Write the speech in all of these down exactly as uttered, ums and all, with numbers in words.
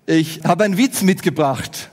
Ich habe einen Witz mitgebracht.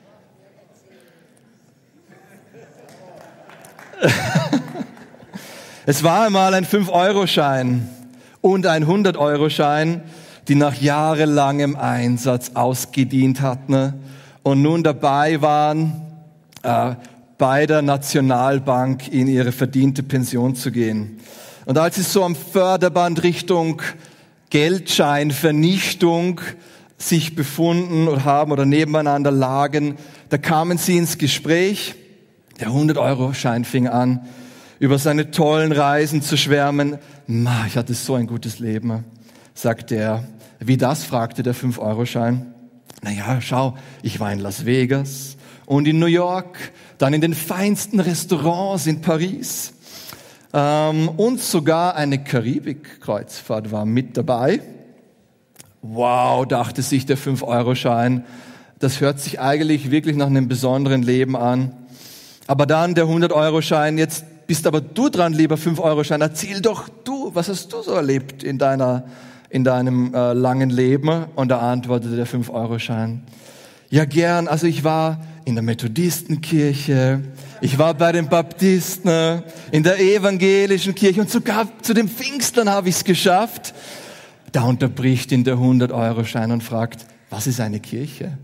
Es war einmal ein fünf-Euro-Schein und ein hundert-Euro-Schein, die nach jahrelangem Einsatz ausgedient hatten und nun dabei waren, äh, bei der Nationalbank in ihre verdiente Pension zu gehen. Und als sie so am Förderband Richtung Geldscheinvernichtung sich befunden oder haben oder nebeneinander lagen, da kamen sie ins Gespräch. Der hundert-Euro-Schein fing an, über seine tollen Reisen zu schwärmen. Ma, ich hatte so ein gutes Leben, sagte er. Wie das, fragte der fünf-Euro-Schein. Naja, schau, ich war in Las Vegas und in New York, dann in den feinsten Restaurants in Paris. Ähm, und sogar eine Karibik-Kreuzfahrt war mit dabei. Wow, dachte sich der fünf-Euro-Schein. Das hört sich eigentlich wirklich nach einem besonderen Leben an. Aber dann der hundert-Euro-Schein, jetzt bist aber du dran, lieber fünf-Euro-Schein. Erzähl doch du, was hast du so erlebt in deiner, in deinem äh, langen Leben? Und da antwortete der fünf-Euro-Schein. Ja, gern. Also ich war in der Methodistenkirche, ich war bei den Baptisten, in der evangelischen Kirche und sogar zu den Pfingstlern habe ich es geschafft. Da unterbricht ihn der hundert-Euro-Schein und fragt, was ist eine Kirche?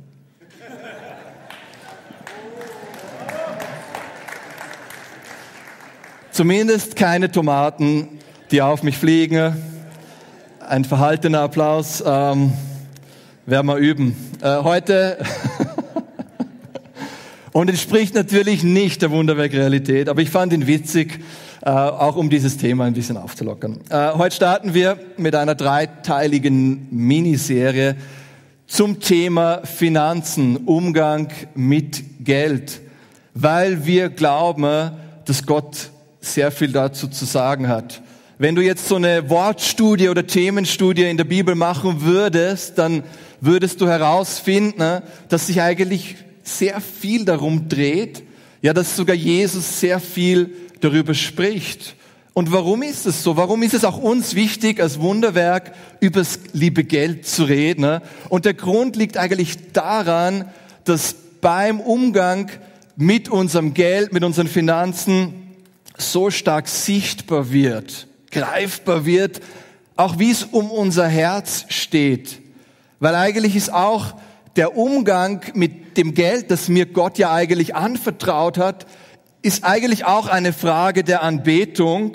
Zumindest keine Tomaten, die auf mich fliegen. Ein verhaltener Applaus, ähm, werden wir üben. Äh, heute, und entspricht natürlich nicht der Wunderwerk-Realität, aber ich fand ihn witzig, äh, auch um dieses Thema ein bisschen aufzulockern. Äh, heute starten wir mit einer dreiteiligen Miniserie zum Thema Finanzen, Umgang mit Geld, weil wir glauben, dass Gott sehr viel dazu zu sagen hat. Wenn du jetzt so eine Wortstudie oder Themenstudie in der Bibel machen würdest, dann würdest du herausfinden, dass sich eigentlich sehr viel darum dreht, ja, dass sogar Jesus sehr viel darüber spricht. Und warum ist es so? Warum ist es auch uns wichtig, als Wunderwerk über das liebe Geld zu reden? Und der Grund liegt eigentlich daran, dass beim Umgang mit unserem Geld, mit unseren Finanzen so stark sichtbar wird, greifbar wird, auch wie es um unser Herz steht. Weil eigentlich ist auch der Umgang mit dem Geld, das mir Gott ja eigentlich anvertraut hat, ist eigentlich auch eine Frage der Anbetung,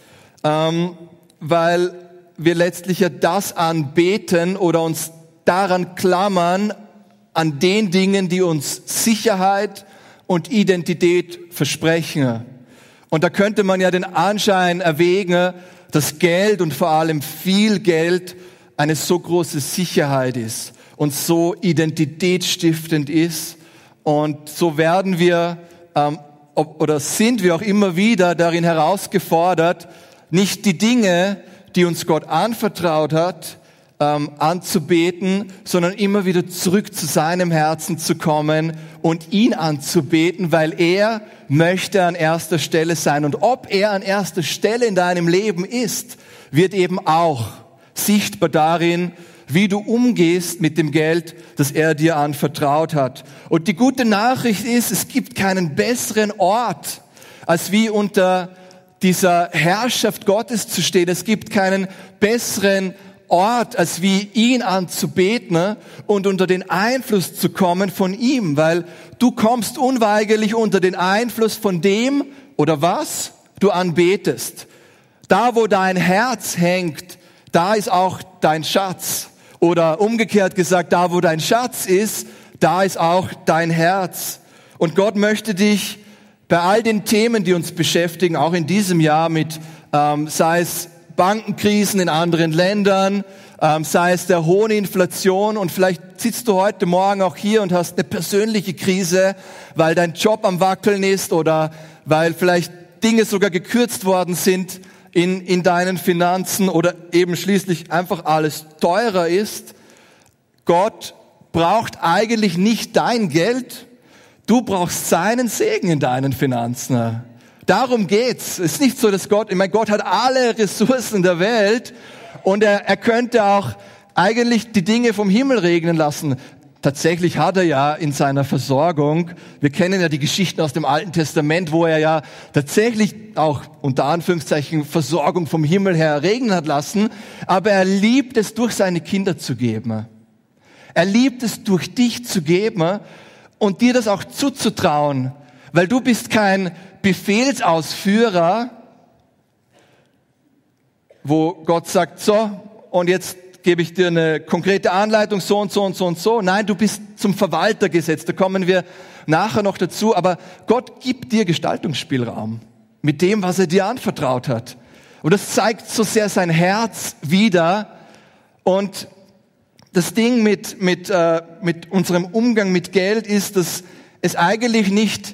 ähm, weil wir letztlich ja das anbeten oder uns daran klammern, an den Dingen, die uns Sicherheit und Identität versprechen. Und da könnte man ja den Anschein erwägen, dass Geld und vor allem viel Geld eine so große Sicherheit ist und so identitätsstiftend ist. Und so werden wir ähm, ob, oder sind wir auch immer wieder darin herausgefordert, nicht die Dinge, die uns Gott anvertraut hat, ähm, anzubeten, sondern immer wieder zurück zu seinem Herzen zu kommen und ihn anzubeten, weil er möchte an erster Stelle sein. Und ob er an erster Stelle in deinem Leben ist, wird eben auch sichtbar darin, wie du umgehst mit dem Geld, das er dir anvertraut hat. Und die gute Nachricht ist, es gibt keinen besseren Ort, als wie unter dieser Herrschaft Gottes zu stehen. Es gibt keinen besseren Ort, als wie ihn anzubeten und unter den Einfluss zu kommen von ihm, weil du kommst unweigerlich unter den Einfluss von dem oder was du anbetest. Da, wo dein Herz hängt, da ist auch dein Schatz. Oder umgekehrt gesagt, da, wo dein Schatz ist, da ist auch dein Herz. Und Gott möchte dich bei all den Themen, die uns beschäftigen, auch in diesem Jahr mit, ähm, sei es Bankenkrisen in anderen Ländern, ähm, sei es der hohen Inflation, und vielleicht sitzt du heute Morgen auch hier und hast eine persönliche Krise, weil dein Job am Wackeln ist oder weil vielleicht Dinge sogar gekürzt worden sind in, in deinen Finanzen oder eben schließlich einfach alles teurer ist. Gott braucht eigentlich nicht dein Geld, du brauchst seinen Segen in deinen Finanzen. Darum geht's. Es ist nicht so, dass Gott, ich meine, Gott hat alle Ressourcen der Welt und er, er könnte auch eigentlich die Dinge vom Himmel regnen lassen. tatsächlich hat er ja in seiner Versorgung, wir kennen ja die Geschichten aus dem Alten Testament, wo er ja tatsächlich auch unter Anführungszeichen Versorgung vom Himmel her regnen hat lassen, aber er liebt es, durch seine Kinder zu geben. Er liebt es, durch dich zu geben und dir das auch zuzutrauen, weil du bist kein Befehlsausführer, wo Gott sagt, so, und jetzt gebe ich dir eine konkrete Anleitung, so und so und so und so. Nein, du bist zum Verwalter gesetzt, da kommen wir nachher noch dazu. Aber Gott gibt dir Gestaltungsspielraum mit dem, was er dir anvertraut hat. Und das zeigt so sehr sein Herz wider. Und das Ding mit, mit, äh, mit unserem Umgang mit Geld ist, dass es eigentlich nicht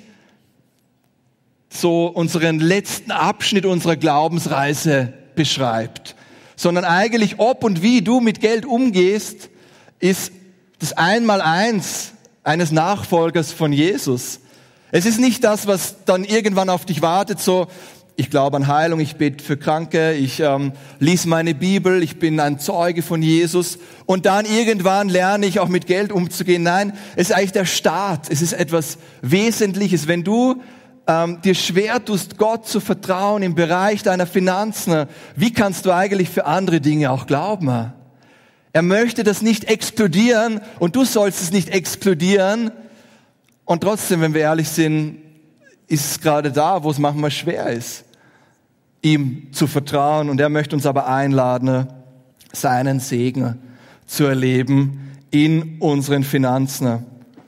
so unseren letzten Abschnitt unserer Glaubensreise beschreibt, sondern eigentlich ob und wie du mit Geld umgehst, ist das Einmaleins eines Nachfolgers von Jesus. Es ist nicht das, was dann irgendwann auf dich wartet, so, ich glaube an Heilung, ich bete für Kranke, ich ähm, lese meine Bibel, ich bin ein Zeuge von Jesus und dann irgendwann lerne ich auch mit Geld umzugehen. Nein, es ist eigentlich der Start, es ist etwas Wesentliches. Wenn du Ähm, dir schwer tust, Gott zu vertrauen im Bereich deiner Finanzen, wie kannst du eigentlich für andere Dinge auch glauben? Er möchte das nicht explodieren und du sollst es nicht explodieren. Und trotzdem, wenn wir ehrlich sind, ist es gerade da, wo es manchmal schwer ist, ihm zu vertrauen. Und er möchte uns aber einladen, seinen Segen zu erleben in unseren Finanzen.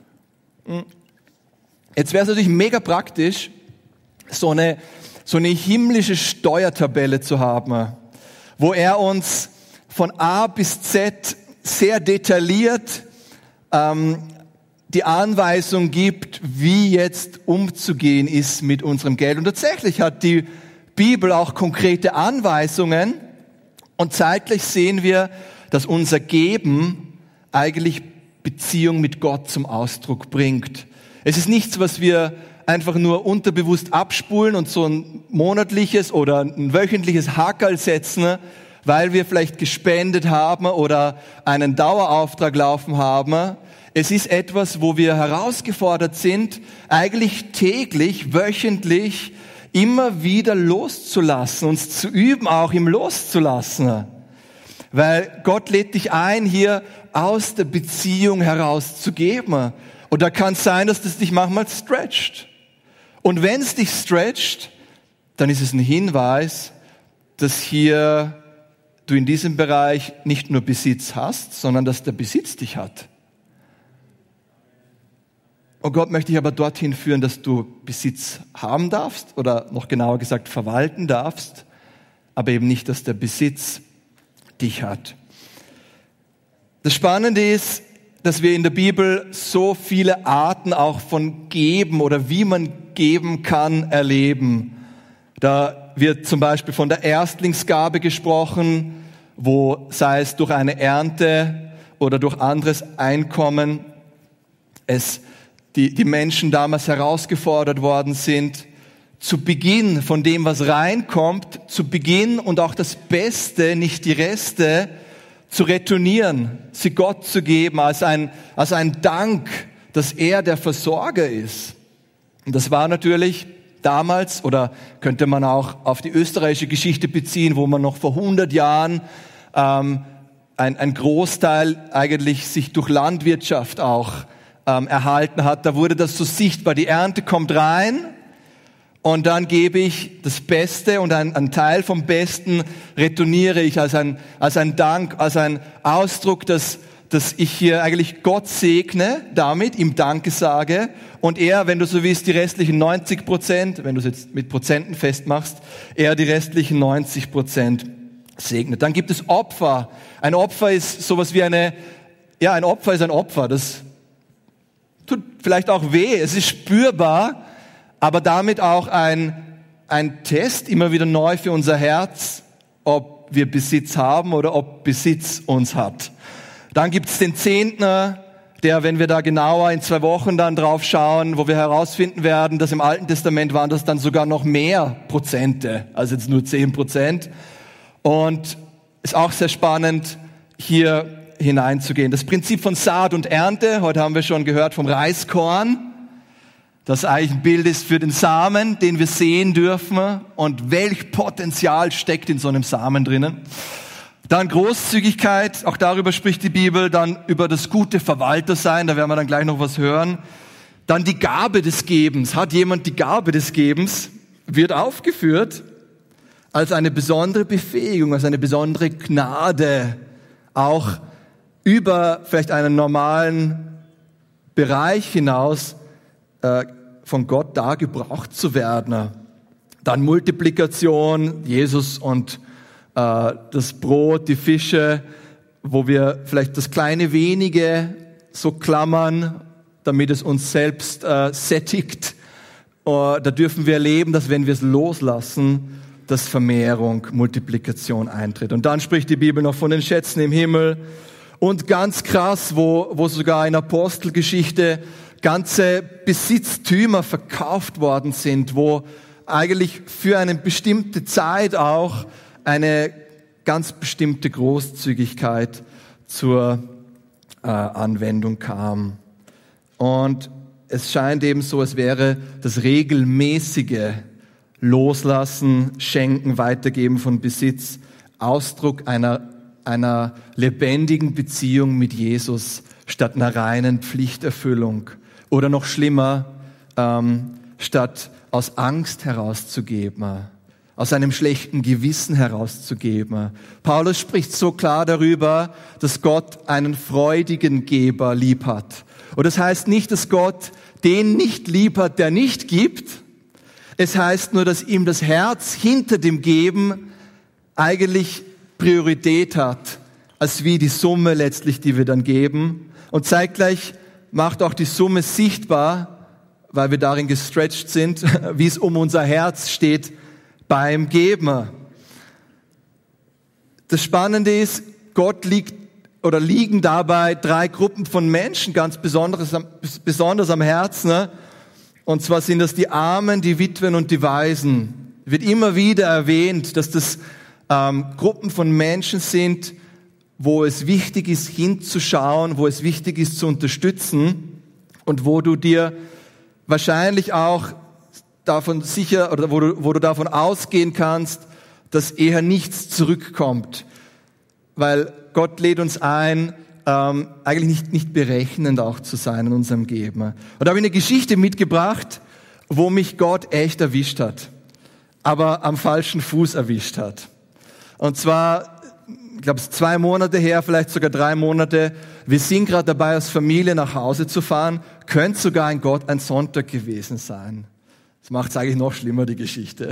Jetzt wäre es natürlich mega praktisch, so eine, so eine himmlische Steuertabelle zu haben, wo er uns von A bis Z sehr detailliert ähm, die Anweisung gibt, wie jetzt umzugehen ist mit unserem Geld. Und tatsächlich hat die Bibel auch konkrete Anweisungen und zeitgleich sehen wir, dass unser Geben eigentlich Beziehung mit Gott zum Ausdruck bringt. Es ist nichts, was wir einfach nur unterbewusst abspulen und so ein monatliches oder ein wöchentliches Hackerl setzen, weil wir vielleicht gespendet haben oder einen Dauerauftrag laufen haben. Es ist etwas, wo wir herausgefordert sind, eigentlich täglich, wöchentlich immer wieder loszulassen, uns zu üben, auch im Loszulassen. Weil Gott lädt dich ein, hier aus der Beziehung heraus zu geben. Und da kann es sein, dass das dich manchmal stretcht. Und wenn es dich stretcht, dann ist es ein Hinweis, dass hier du in diesem Bereich nicht nur Besitz hast, sondern dass der Besitz dich hat. Und Gott möchte dich aber dorthin führen, dass du Besitz haben darfst oder noch genauer gesagt verwalten darfst, aber eben nicht, dass der Besitz dich hat. Das Spannende ist, dass wir in der Bibel so viele Arten auch von Geben oder wie man geben kann, erleben. Da wird zum Beispiel von der Erstlingsgabe gesprochen, wo sei es durch eine Ernte oder durch anderes Einkommen es die, die Menschen damals herausgefordert worden sind, zu Beginn von dem, was reinkommt, zu Beginn und auch das Beste, nicht die Reste, zu retournieren, sie Gott zu geben als ein, als ein Dank, dass er der Versorger ist. Und das war natürlich damals, oder könnte man auch auf die österreichische Geschichte beziehen, wo man noch vor hundert Jahren ähm, ein, ein Großteil eigentlich sich durch Landwirtschaft auch ähm, erhalten hat. Da wurde das so sichtbar. Die Ernte kommt rein und dann gebe ich das Beste und ein, ein Teil vom Besten retourniere ich als ein, als ein Dank, als ein Ausdruck, dass, dass ich hier eigentlich Gott segne, damit ihm Danke sage und er, wenn du so willst, die restlichen neunzig Prozent, wenn du es jetzt mit Prozenten festmachst, er die restlichen neunzig Prozent segnet. Dann gibt es Opfer. Ein Opfer ist sowas wie eine, ja, ein Opfer ist ein Opfer. Das tut vielleicht auch weh, es ist spürbar, aber damit auch ein, ein Test immer wieder neu für unser Herz, ob wir Besitz haben oder ob Besitz uns hat. Dann gibt es den Zehntner, der, wenn wir da genauer in zwei Wochen dann drauf schauen, wo wir herausfinden werden, dass im Alten Testament waren das dann sogar noch mehr Prozente, als jetzt nur zehn Prozent. Und ist auch sehr spannend, hier hineinzugehen. Das Prinzip von Saat und Ernte, heute haben wir schon gehört vom Reiskorn, das eigentlich ein Bild ist für den Samen, den wir sehen dürfen und welch Potenzial steckt in so einem Samen drinnen. Dann Großzügigkeit, auch darüber spricht die Bibel, dann über das gute Verwaltersein, da werden wir dann gleich noch was hören. Dann die Gabe des Gebens. Hat jemand die Gabe des Gebens? Wird aufgeführt als eine besondere Befähigung, als eine besondere Gnade, auch über vielleicht einen normalen Bereich hinaus äh, von Gott da gebraucht zu werden. Dann Multiplikation, Jesus und äh, das Brot, die Fische, wo wir vielleicht das kleine wenige so klammern, damit es uns selbst äh, sättigt. Uh, da dürfen wir erleben, dass wenn wir es loslassen, dass Vermehrung, Multiplikation eintritt. Und dann spricht die Bibel noch von den Schätzen im Himmel. Und ganz krass, wo, wo sogar in Apostelgeschichte ganze Besitztümer verkauft worden sind, wo eigentlich für eine bestimmte Zeit auch eine ganz bestimmte Großzügigkeit zur äh, Anwendung kam. Und es scheint eben so, als wäre das regelmäßige Loslassen, Schenken, Weitergeben von Besitz Ausdruck einer, einer lebendigen Beziehung mit Jesus statt einer reinen Pflichterfüllung. Oder noch schlimmer, ähm, statt aus Angst herauszugeben, aus einem schlechten Gewissen herauszugeben. Paulus spricht so klar darüber, dass Gott einen freudigen Geber lieb hat. Und das heißt nicht, dass Gott den nicht lieb hat, der nicht gibt. Es heißt nur, dass ihm das Herz hinter dem Geben eigentlich Priorität hat, als wie die Summe letztlich, die wir dann geben. Und zeitgleich macht auch die Summe sichtbar, weil wir darin gestretched sind, wie es um unser Herz steht beim Geben. Das Spannende ist, Gott liegt oder liegen dabei drei Gruppen von Menschen ganz besonders, besonders am Herzen. Ne? Und zwar sind das die Armen, die Witwen und die Waisen. Wird immer wieder erwähnt, dass das ähm, Gruppen von Menschen sind, wo es wichtig ist, hinzuschauen, wo es wichtig ist, zu unterstützen und wo du dir wahrscheinlich auch davon sicher oder wo du, wo du davon ausgehen kannst, dass eher nichts zurückkommt, weil Gott lädt uns ein, ähm, eigentlich nicht, nicht berechnend auch zu sein in unserem Geben. Und da habe ich eine Geschichte mitgebracht, wo mich Gott echt erwischt hat, aber am falschen Fuß erwischt hat. Und zwar, ich glaube, es ist zwei Monate her, vielleicht sogar drei Monate. Wir sind gerade dabei, als Familie nach Hause zu fahren. Könnte sogar ein Gott ein Sonntag gewesen sein. Das macht es eigentlich noch schlimmer, die Geschichte,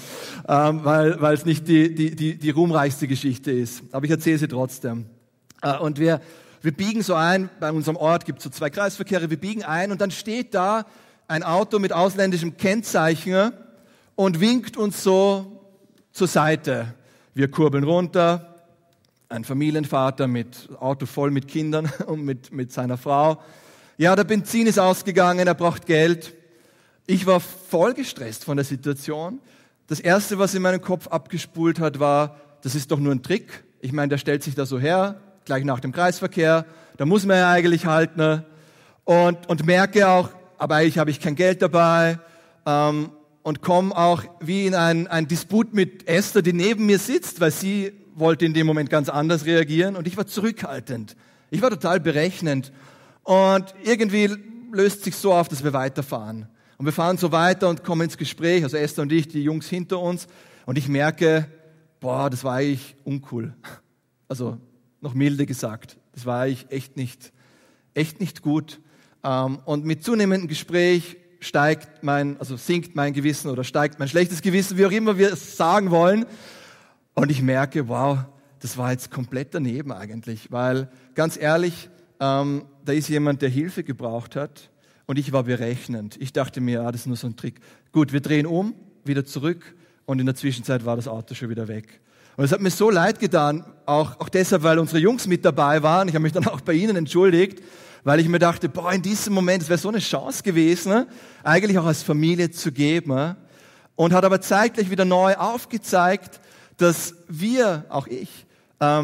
ähm, weil weil es nicht die, die, die, die ruhmreichste Geschichte ist. Aber ich erzähle sie trotzdem. Äh, und wir, wir biegen so ein, bei unserem Ort gibt es so zwei Kreisverkehre, wir biegen ein und dann steht da ein Auto mit ausländischem Kennzeichen und winkt uns so zur Seite. Wir kurbeln runter, ein Familienvater mit Auto voll mit Kindern und mit, mit seiner Frau. Ja, der Benzin ist ausgegangen, er braucht Geld. Ich war voll gestresst von der Situation. Das Erste, was in meinem Kopf abgespult hat, war, das ist doch nur ein Trick. Ich meine, der stellt sich da so her, gleich nach dem Kreisverkehr. Da muss man ja eigentlich halten. Und, und merke auch, aber eigentlich habe ich kein Geld dabei. Ähm, und komme auch wie in einen, einen Disput mit Esther, die neben mir sitzt, weil sie wollte in dem Moment ganz anders reagieren. Und ich war zurückhaltend. Ich war total berechnend. Und irgendwie löst sich so auf, dass wir weiterfahren. Und wir fahren so weiter und kommen ins Gespräch, also Esther und ich, die Jungs hinter uns. Und ich merke, boah, das war eigentlich uncool. Also noch milde gesagt. Das war eigentlich echt nicht, echt nicht gut. Und mit zunehmendem Gespräch steigt mein, also sinkt mein Gewissen oder steigt mein schlechtes Gewissen, wie auch immer wir es sagen wollen. Und ich merke, wow, das war jetzt komplett daneben eigentlich. Weil, ganz ehrlich, ähm, da ist jemand, der Hilfe gebraucht hat. Und ich war berechnend. Ich dachte mir, ah, das ist nur so ein Trick. Gut, wir drehen um, wieder zurück und in der Zwischenzeit war das Auto schon wieder weg. Und es hat mir so leid getan, auch, auch deshalb, weil unsere Jungs mit dabei waren. Ich habe mich dann auch bei ihnen entschuldigt, weil ich mir dachte, boah, in diesem Moment, es wäre so eine Chance gewesen, ne? Eigentlich auch als Familie zu geben. Ne? Und hat aber zeitgleich wieder neu aufgezeigt, dass wir, auch ich, ähm,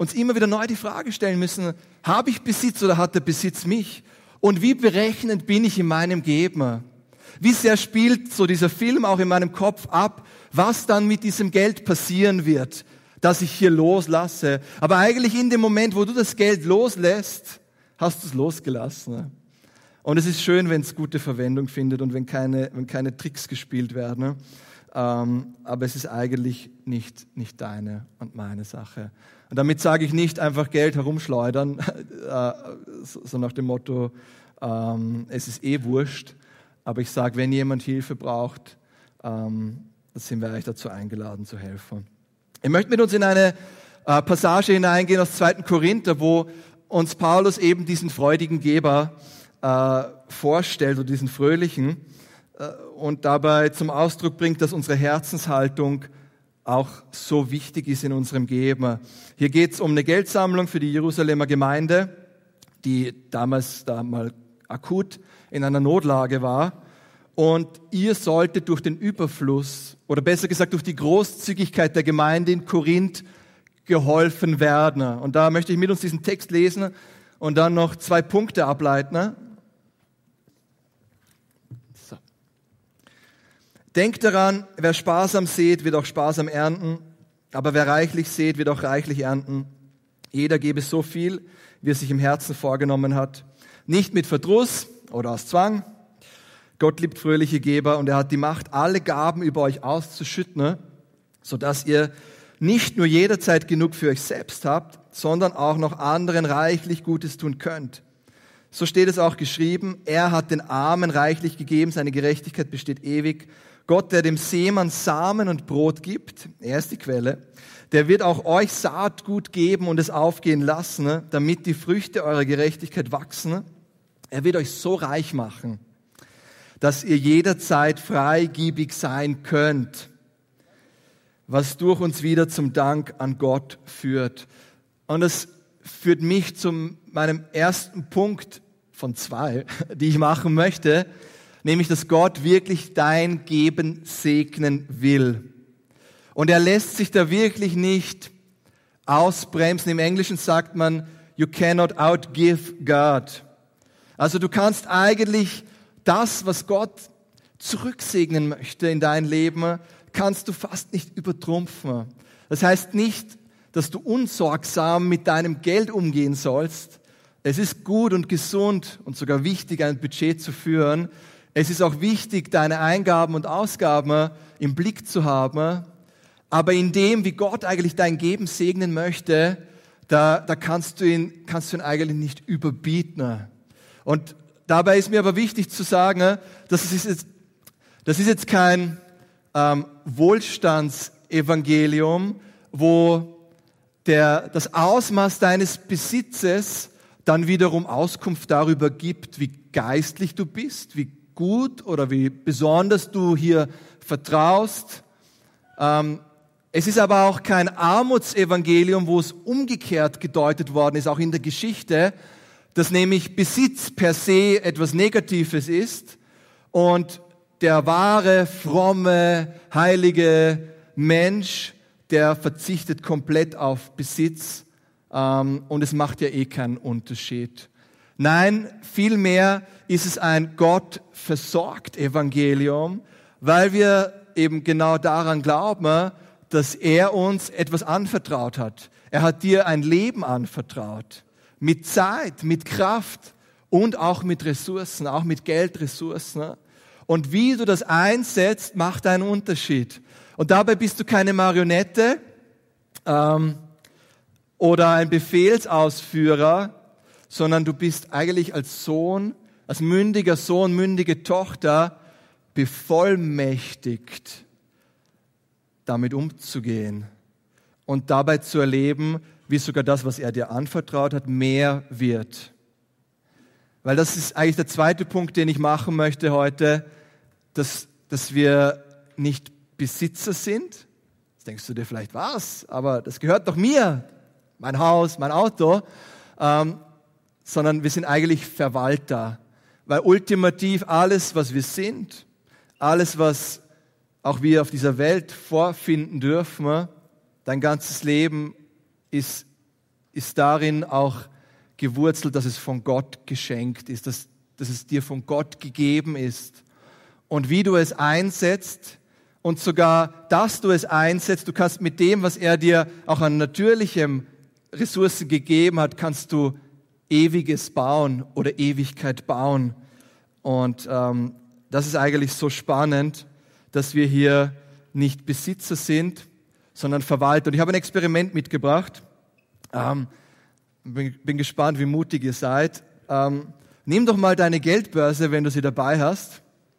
uns immer wieder neu die Frage stellen müssen, habe ich Besitz oder hat der Besitz mich? Und wie berechnend bin ich in meinem Geben? Wie sehr spielt so dieser Film auch in meinem Kopf ab, was dann mit diesem Geld passieren wird, das ich hier loslasse? Aber eigentlich in dem Moment, wo du das Geld loslässt, hast du es losgelassen. Und es ist schön, wenn es gute Verwendung findet und wenn keine, wenn keine Tricks gespielt werden. Ähm, aber es ist eigentlich nicht, nicht deine und meine Sache. Und damit sage ich nicht einfach Geld herumschleudern, äh, so, so nach dem Motto, ähm, es ist eh wurscht. Aber ich sage, wenn jemand Hilfe braucht, ähm, dann sind wir eigentlich dazu eingeladen zu helfen. Ich möchte mit uns in eine äh, Passage hineingehen aus zweiten Korinther, wo uns Paulus eben diesen freudigen Geber äh, vorstellt oder diesen fröhlichen äh, und dabei zum Ausdruck bringt, dass unsere Herzenshaltung auch so wichtig ist in unserem Geben. Hier geht es um eine Geldsammlung für die Jerusalemer Gemeinde, die damals da mal akut in einer Notlage war. Und ihr solltet durch den Überfluss, oder besser gesagt durch die Großzügigkeit der Gemeinde in Korinth geholfen werden. Und da möchte ich mit uns diesen Text lesen und dann noch zwei Punkte ableiten. So. Denkt daran, wer sparsam sät, wird auch sparsam ernten, aber wer reichlich sät, wird auch reichlich ernten. Jeder gebe so viel, wie er sich im Herzen vorgenommen hat. Nicht mit Verdruss oder aus Zwang. Gott liebt fröhliche Geber und er hat die Macht, alle Gaben über euch auszuschütten, sodass ihr nicht nur jederzeit genug für euch selbst habt, sondern auch noch anderen reichlich Gutes tun könnt. So steht es auch geschrieben, er hat den Armen reichlich gegeben, seine Gerechtigkeit besteht ewig. Gott, der dem Seemann Samen und Brot gibt, er ist die Quelle, der wird auch euch Saatgut geben und es aufgehen lassen, damit die Früchte eurer Gerechtigkeit wachsen. Er wird euch so reich machen, dass ihr jederzeit freigebig sein könnt, was durch uns wieder zum Dank an Gott führt. Und das führt mich zu meinem ersten Punkt von zwei, die ich machen möchte, nämlich, dass Gott wirklich dein Geben segnen will. Und er lässt sich da wirklich nicht ausbremsen. Im Englischen sagt man, you cannot outgive God. Also du kannst eigentlich das, was Gott zurücksegnen möchte in dein Leben, kannst du fast nicht übertrumpfen. Das heißt nicht, dass du unsorgsam mit deinem Geld umgehen sollst. Es ist gut und gesund und sogar wichtig, ein Budget zu führen. Es ist auch wichtig, deine Eingaben und Ausgaben im Blick zu haben. Aber in dem, wie Gott eigentlich dein Geben segnen möchte, da, da kannst du ihn, kannst du ihn eigentlich nicht überbieten. Und dabei ist mir aber wichtig zu sagen, dass es jetzt, das ist jetzt kein ähm, Wohlstandsevangelium, wo der, das Ausmaß deines Besitzes dann wiederum Auskunft darüber gibt, wie geistlich du bist, wie gut oder wie besonders du hier vertraust. Ähm, es ist aber auch kein Armutsevangelium, wo es umgekehrt gedeutet worden ist, auch in der Geschichte, dass nämlich Besitz per se etwas Negatives ist und der wahre, fromme, heilige Mensch, der verzichtet komplett auf Besitz ähm, und es macht ja eh keinen Unterschied. Nein, vielmehr ist es ein Gott-versorgt-Evangelium, weil wir eben genau daran glauben, dass er uns etwas anvertraut hat. Er hat dir ein Leben anvertraut. Mit Zeit, mit Kraft und auch mit Ressourcen, auch mit Geldressourcen. Und wie du das einsetzt, macht einen Unterschied. Und dabei bist du keine Marionette ähm, oder ein Befehlsausführer, sondern du bist eigentlich als Sohn, als mündiger Sohn, mündige Tochter bevollmächtigt, damit umzugehen und dabei zu erleben, wie sogar das, was er dir anvertraut hat, mehr wird. Weil das ist eigentlich der zweite Punkt, den ich machen möchte heute, dass, dass wir nicht Besitzer sind. Jetzt denkst du dir vielleicht, was? Aber das gehört doch mir, mein Haus, mein Auto. Ähm, sondern wir sind eigentlich Verwalter. Weil ultimativ alles, was wir sind, alles, was auch wir auf dieser Welt vorfinden dürfen, dein ganzes Leben ist ist darin auch gewurzelt, dass es von Gott geschenkt ist, dass, dass es dir von Gott gegeben ist. Und wie du es einsetzt und sogar, dass du es einsetzt, du kannst mit dem, was er dir auch an natürlichem Ressourcen gegeben hat, kannst du Ewiges bauen oder Ewigkeit bauen. Und ähm, das ist eigentlich so spannend, dass wir hier nicht Besitzer sind, sondern Verwalter. Und ich habe ein Experiment mitgebracht. Ähm, bin, bin gespannt, wie mutig ihr seid. Ähm, nimm doch mal deine Geldbörse, wenn du sie dabei hast.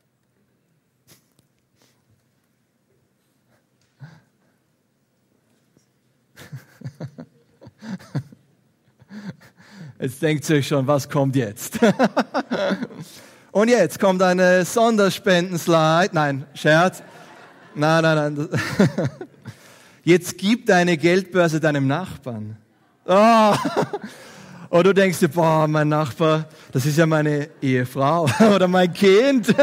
Jetzt denkt ihr euch schon, was kommt jetzt? Und jetzt kommt eine Sonderspendenslide. Nein, Scherz. Nein, nein, nein. Jetzt gib deine Geldbörse deinem Nachbarn. Oh. Und du denkst dir, boah, mein Nachbar, das ist ja meine Ehefrau oder mein Kind.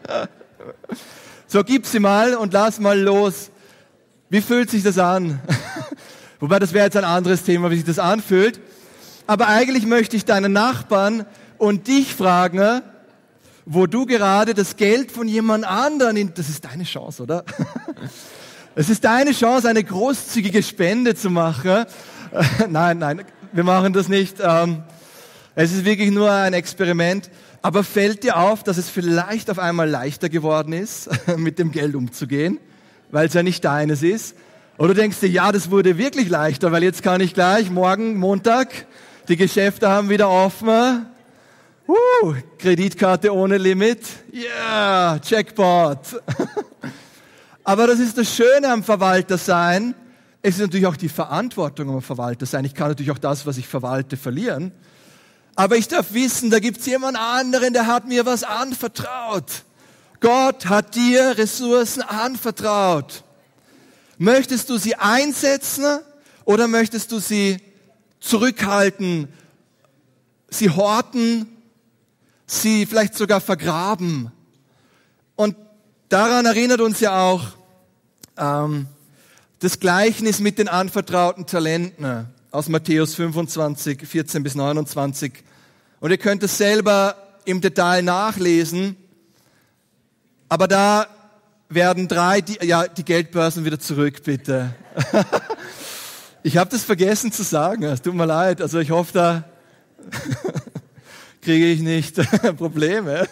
So, gib sie mal und lass mal los. Wie fühlt sich das an? Wobei, das wäre jetzt ein anderes Thema, wie sich das anfühlt. Aber eigentlich möchte ich deinen Nachbarn und dich fragen, wo du gerade das Geld von jemand anderen, in, das ist deine Chance, oder? Es ist deine Chance, eine großzügige Spende zu machen. Nein, nein, wir machen das nicht. Es ist wirklich nur ein Experiment. Aber fällt dir auf, dass es vielleicht auf einmal leichter geworden ist, mit dem Geld umzugehen, weil es ja nicht deines ist? Oder denkst du, ja, das wurde wirklich leichter, weil jetzt kann ich gleich morgen, Montag, die Geschäfte haben wieder offen. Uh, Kreditkarte ohne Limit. Yeah, Jackpot. Aber das ist das Schöne am Verwaltersein. Es ist natürlich auch die Verantwortung am Verwaltersein. Ich kann natürlich auch das, was ich verwalte, verlieren. Aber ich darf wissen, da gibt's jemand anderen, der hat mir was anvertraut. Gott hat dir Ressourcen anvertraut. Möchtest du sie einsetzen oder möchtest du sie zurückhalten, sie horten, sie vielleicht sogar vergraben? Und daran erinnert uns ja auch ähm, das Gleichnis mit den anvertrauten Talenten aus Matthäus fünfundzwanzig, vierzehn bis neunundzwanzig. Und ihr könnt es selber im Detail nachlesen. Aber da werden drei, die, ja, die Geldbörsen wieder zurück, bitte. Ich habe das vergessen zu sagen, es tut mir leid. Also ich hoffe, da kriege ich nicht Probleme.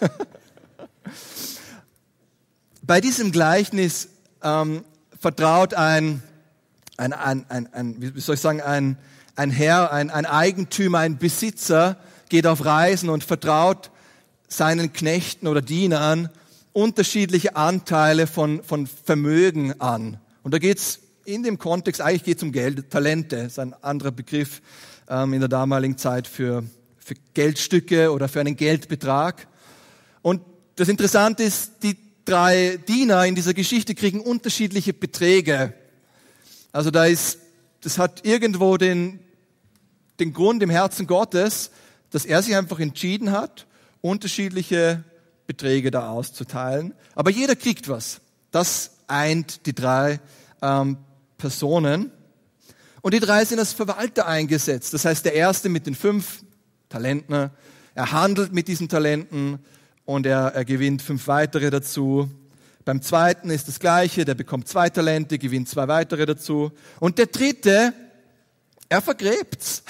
Bei diesem Gleichnis ähm, vertraut ein, ein, ein, ein, ein, wie soll ich sagen, ein, ein Herr, ein, ein Eigentümer, ein Besitzer, geht auf Reisen und vertraut seinen Knechten oder Dienern unterschiedliche Anteile von, von Vermögen an. Und da geht's in dem Kontext, eigentlich geht es um Geld, Talente, ist ein anderer Begriff ähm, in der damaligen Zeit für, für Geldstücke oder für einen Geldbetrag. Und das Interessante ist, die drei Diener in dieser Geschichte kriegen unterschiedliche Beträge. Also da ist, das hat irgendwo den, den Grund im Herzen Gottes, dass er sich einfach entschieden hat, unterschiedliche Beträge da auszuteilen. Aber jeder kriegt was. Das eint die drei ähm, Personen. Und die drei sind als Verwalter eingesetzt. Das heißt, der erste mit den fünf Talenten, er handelt mit diesen Talenten und er, er gewinnt fünf weitere dazu. Beim zweiten ist das Gleiche, der bekommt zwei Talente, gewinnt zwei weitere dazu. Und der dritte, er vergräbt's.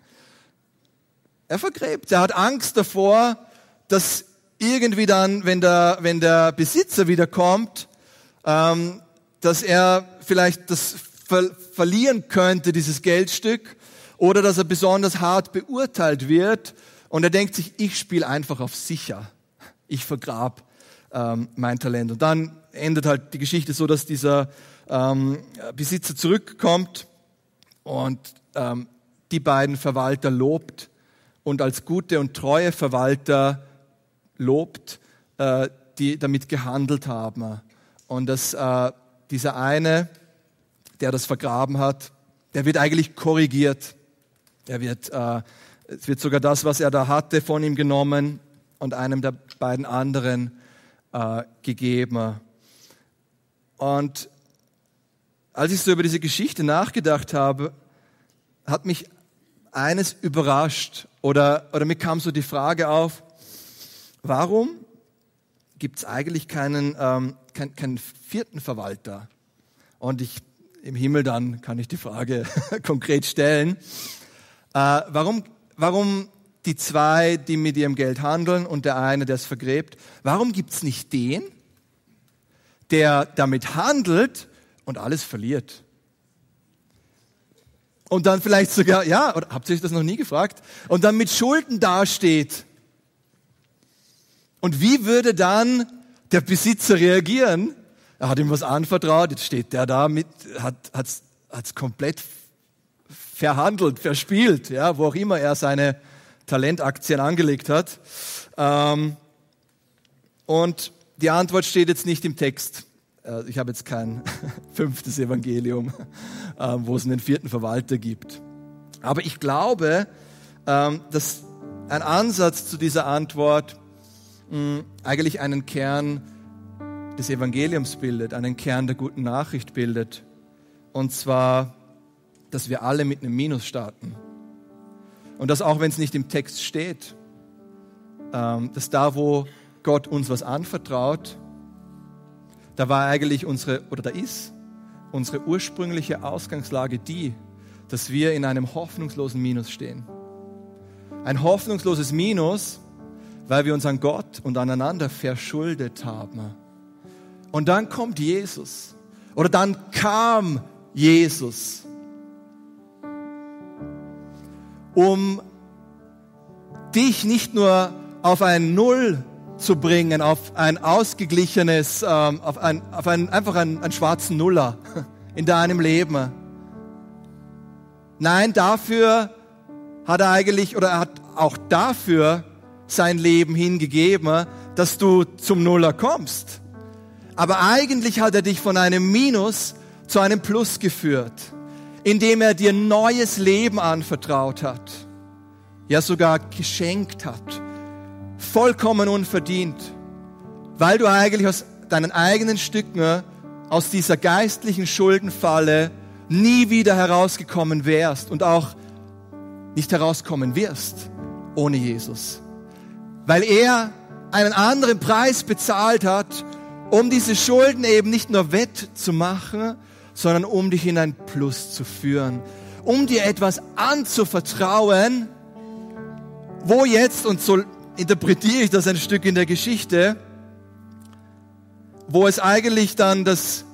Er vergräbt. Er hat Angst davor, dass irgendwie dann, wenn der, wenn der Besitzer wiederkommt, ähm, dass er vielleicht das ver- verlieren könnte, dieses Geldstück, oder dass er besonders hart beurteilt wird. Und er denkt sich, ich spiele einfach auf sicher. Ich vergrab ähm, mein Talent. Und dann endet halt die Geschichte so, dass dieser ähm, Besitzer zurückkommt und ähm, die beiden Verwalter lobt und als gute und treue Verwalter lobt, äh, die damit gehandelt haben. Und dass äh, dieser eine, der das vergraben hat, der wird eigentlich korrigiert. Er wird, äh, es wird sogar das, was er da hatte, von ihm genommen und einem der beiden anderen äh, gegeben. Und als ich so über diese Geschichte nachgedacht habe, hat mich eines überrascht oder, oder mir kam so die Frage auf, warum gibt es eigentlich keinen, ähm, keinen, keinen vierten Verwalter? Und ich im Himmel dann kann ich die Frage konkret stellen. Äh, warum, warum die zwei, die mit ihrem Geld handeln und der eine, der es vergräbt, warum gibt es nicht den, der damit handelt und alles verliert? Und dann vielleicht sogar, ja, oder habt ihr euch das noch nie gefragt? Und dann mit Schulden dasteht. Und wie würde dann der Besitzer reagieren? Er hat ihm was anvertraut, jetzt steht der da mit, hat hat's, hat's komplett verhandelt, verspielt, ja, wo auch immer er seine Talentaktien angelegt hat. Ähm, und die Antwort steht jetzt nicht im Text. Äh, ich habe jetzt kein fünftes Evangelium, äh, wo es einen vierten Verwalter gibt. Aber ich glaube, ähm, dass ein Ansatz zu dieser Antwort mh, eigentlich einen Kern des Evangeliums bildet, einen Kern der guten Nachricht bildet. Und zwar, dass wir alle mit einem Minus starten. Und dass auch wenn es nicht im Text steht, ähm, dass da, wo Gott uns was anvertraut, da war eigentlich unsere, oder da ist unsere ursprüngliche Ausgangslage die, dass wir in einem hoffnungslosen Minus stehen. Ein hoffnungsloses Minus, weil wir uns an Gott und aneinander verschuldet haben. Und dann kommt Jesus. Oder dann kam Jesus, um dich nicht nur auf ein Null zu bringen, auf ein ausgeglichenes, ähm, auf, ein, auf ein, einfach einen, einen schwarzen Nuller in deinem Leben. Nein, dafür hat er eigentlich, oder er hat auch dafür sein Leben hingegeben, dass du zum Nuller kommst. Aber eigentlich hat er dich von einem Minus zu einem Plus geführt, indem er dir neues Leben anvertraut hat, ja sogar geschenkt hat, vollkommen unverdient, weil du eigentlich aus deinen eigenen Stücken, aus dieser geistlichen Schuldenfalle nie wieder herausgekommen wärst und auch nicht herauskommen wirst ohne Jesus. Weil er einen anderen Preis bezahlt hat, um diese Schulden eben nicht nur wettzumachen, sondern um dich in ein Plus zu führen, um dir etwas anzuvertrauen, wo jetzt, und so interpretiere ich das ein Stück in der Geschichte, wo es eigentlich dann das,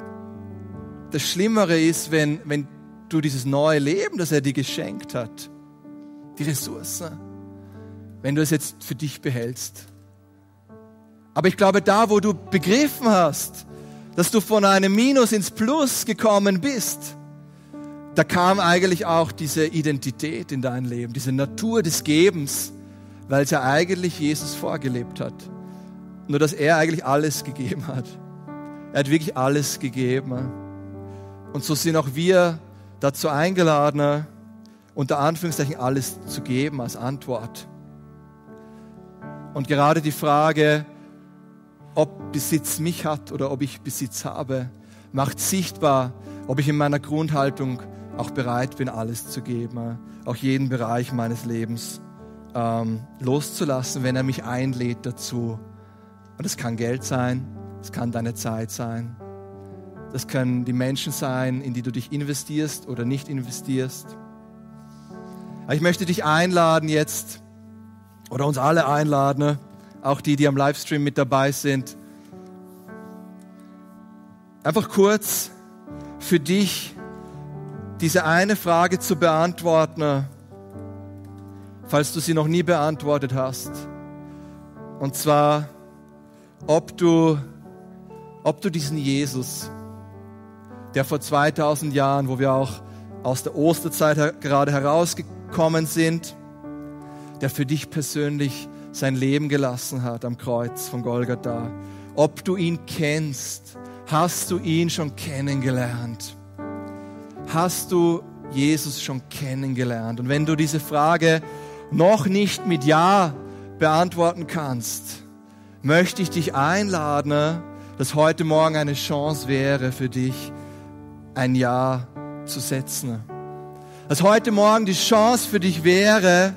das Schlimmere ist, wenn, wenn du dieses neue Leben, das er dir geschenkt hat, die Ressource, wenn du es jetzt für dich behältst. Aber ich glaube, da, wo du begriffen hast, dass du von einem Minus ins Plus gekommen bist, da kam eigentlich auch diese Identität in dein Leben, diese Natur des Gebens, weil es ja eigentlich Jesus vorgelebt hat. Nur, dass er eigentlich alles gegeben hat. Er hat wirklich alles gegeben. Und so sind auch wir dazu eingeladen, unter Anführungszeichen alles zu geben als Antwort. Und gerade die Frage, ob Besitz mich hat oder ob ich Besitz habe, macht sichtbar, ob ich in meiner Grundhaltung auch bereit bin, alles zu geben, auch jeden Bereich meines Lebens ähm, loszulassen, wenn er mich einlädt dazu. Und das kann Geld sein, das kann deine Zeit sein, das können die Menschen sein, in die du dich investierst oder nicht investierst. Aber ich möchte dich einladen jetzt, oder uns alle einladen, auch die, die am Livestream mit dabei sind, einfach kurz für dich diese eine Frage zu beantworten, falls du sie noch nie beantwortet hast. Und zwar, ob du, ob du diesen Jesus, der vor zweitausend Jahren, wo wir auch aus der Osterzeit gerade herausgekommen sind, der für dich persönlich sein Leben gelassen hat am Kreuz von Golgatha. Ob du ihn kennst, hast du ihn schon kennengelernt? Hast du Jesus schon kennengelernt? Und wenn du diese Frage noch nicht mit Ja beantworten kannst, möchte ich dich einladen, dass heute Morgen eine Chance wäre für dich, ein Ja zu setzen. dass heute Morgen die Chance für dich wäre,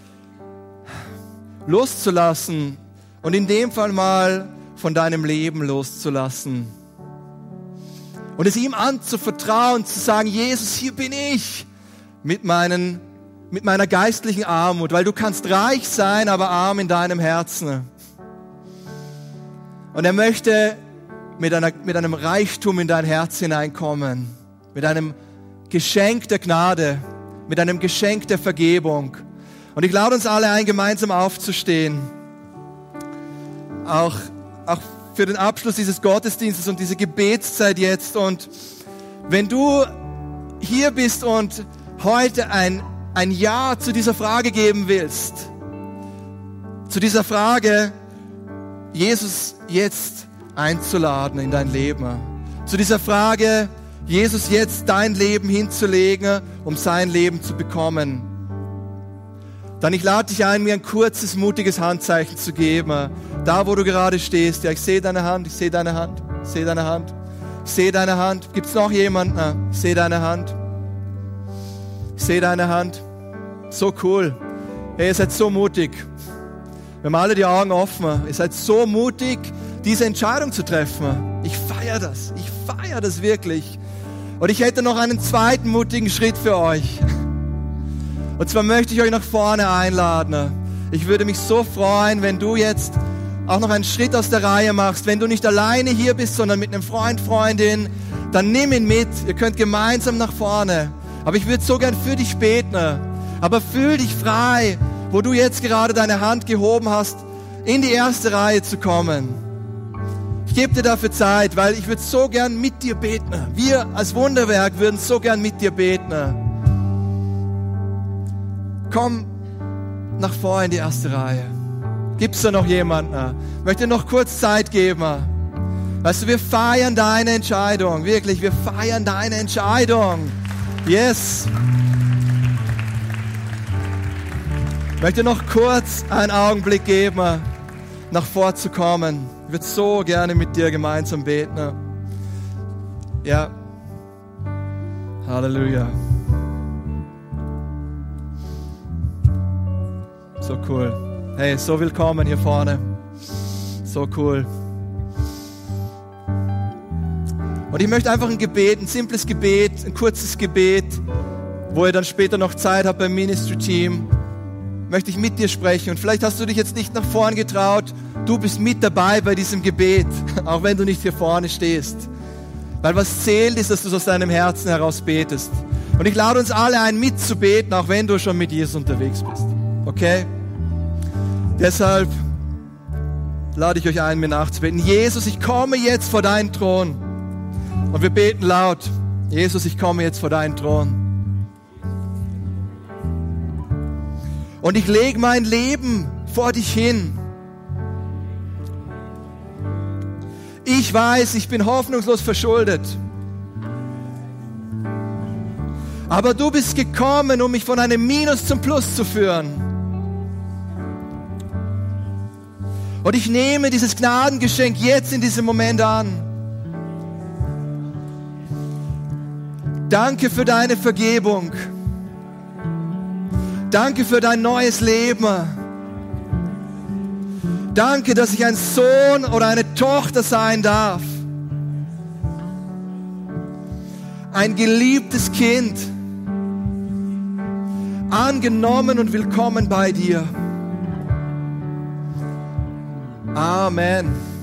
loszulassen und in dem Fall mal von deinem Leben loszulassen. Und es ihm anzuvertrauen, zu sagen, Jesus, hier bin ich mit, meinen, mit meiner geistlichen Armut, weil du kannst reich sein, aber arm in deinem Herzen. Und er möchte mit, einer, mit einem Reichtum in dein Herz hineinkommen, mit einem Geschenk der Gnade, mit einem Geschenk der Vergebung. Und ich lade uns alle ein, gemeinsam aufzustehen. Auch, auch für den Abschluss dieses Gottesdienstes und diese Gebetszeit jetzt. Und wenn du hier bist und heute ein, ein Ja zu dieser Frage geben willst, zu dieser Frage, Jesus jetzt einzuladen in dein Leben, zu dieser Frage, Jesus jetzt dein Leben hinzulegen, um sein Leben zu bekommen, dann ich lade dich ein, mir ein kurzes, mutiges Handzeichen zu geben. Da, wo du gerade stehst. Ja, ich sehe deine Hand, ich sehe deine Hand, ich sehe deine Hand, ich sehe deine Hand. Gibt's noch jemanden? Ich sehe deine Hand. Ich sehe deine Hand. So cool. Hey, ihr seid so mutig. Wir haben alle die Augen offen. Ihr seid so mutig, diese Entscheidung zu treffen. Ich feiere das. Ich feiere das wirklich. Und ich hätte noch einen zweiten mutigen Schritt für euch. Und zwar möchte ich euch nach vorne einladen. Ich würde mich so freuen, wenn du jetzt auch noch einen Schritt aus der Reihe machst. Wenn du nicht alleine hier bist, sondern mit einem Freund, Freundin, dann nimm ihn mit. Ihr könnt gemeinsam nach vorne. Aber ich würde so gern für dich beten. Aber fühl dich frei, wo du jetzt gerade deine Hand gehoben hast, in die erste Reihe zu kommen. Ich gebe dir dafür Zeit, weil ich würde so gern mit dir beten. Wir als Wunderwerk würden so gern mit dir beten. Komm nach vor in die erste Reihe. Gibt's da noch jemanden? Ich möchte dir noch kurz Zeit geben. Weißt du, wir feiern deine Entscheidung. Wirklich, wir feiern deine Entscheidung. Yes. Ich möchte noch kurz einen Augenblick geben, nach vor zu kommen. Ich würde so gerne mit dir gemeinsam beten. Ja. Halleluja. So cool. Hey, so willkommen hier vorne. So cool. Und ich möchte einfach ein Gebet, ein simples Gebet, ein kurzes Gebet, wo ihr dann später noch Zeit habt beim Ministry-Team, möchte ich mit dir sprechen. Und vielleicht hast du dich jetzt nicht nach vorn getraut. Du bist mit dabei bei diesem Gebet, auch wenn du nicht hier vorne stehst. Weil was zählt ist, dass du aus deinem Herzen heraus betest. Und ich lade uns alle ein, mitzubeten, auch wenn du schon mit Jesus unterwegs bist. Okay? Deshalb lade ich euch ein, mir nachzubeten. Jesus, ich komme jetzt vor deinen Thron. Und wir beten laut. Jesus, ich komme jetzt vor deinen Thron. Und ich lege mein Leben vor dich hin. Ich weiß, ich bin hoffnungslos verschuldet. Aber du bist gekommen, um mich von einem Minus zum Plus zu führen. Und ich nehme dieses Gnadengeschenk jetzt in diesem Moment an. Danke für deine Vergebung. Danke für dein neues Leben. Danke, dass ich ein Sohn oder eine Tochter sein darf. Ein geliebtes Kind. Angenommen und willkommen bei dir. Amen.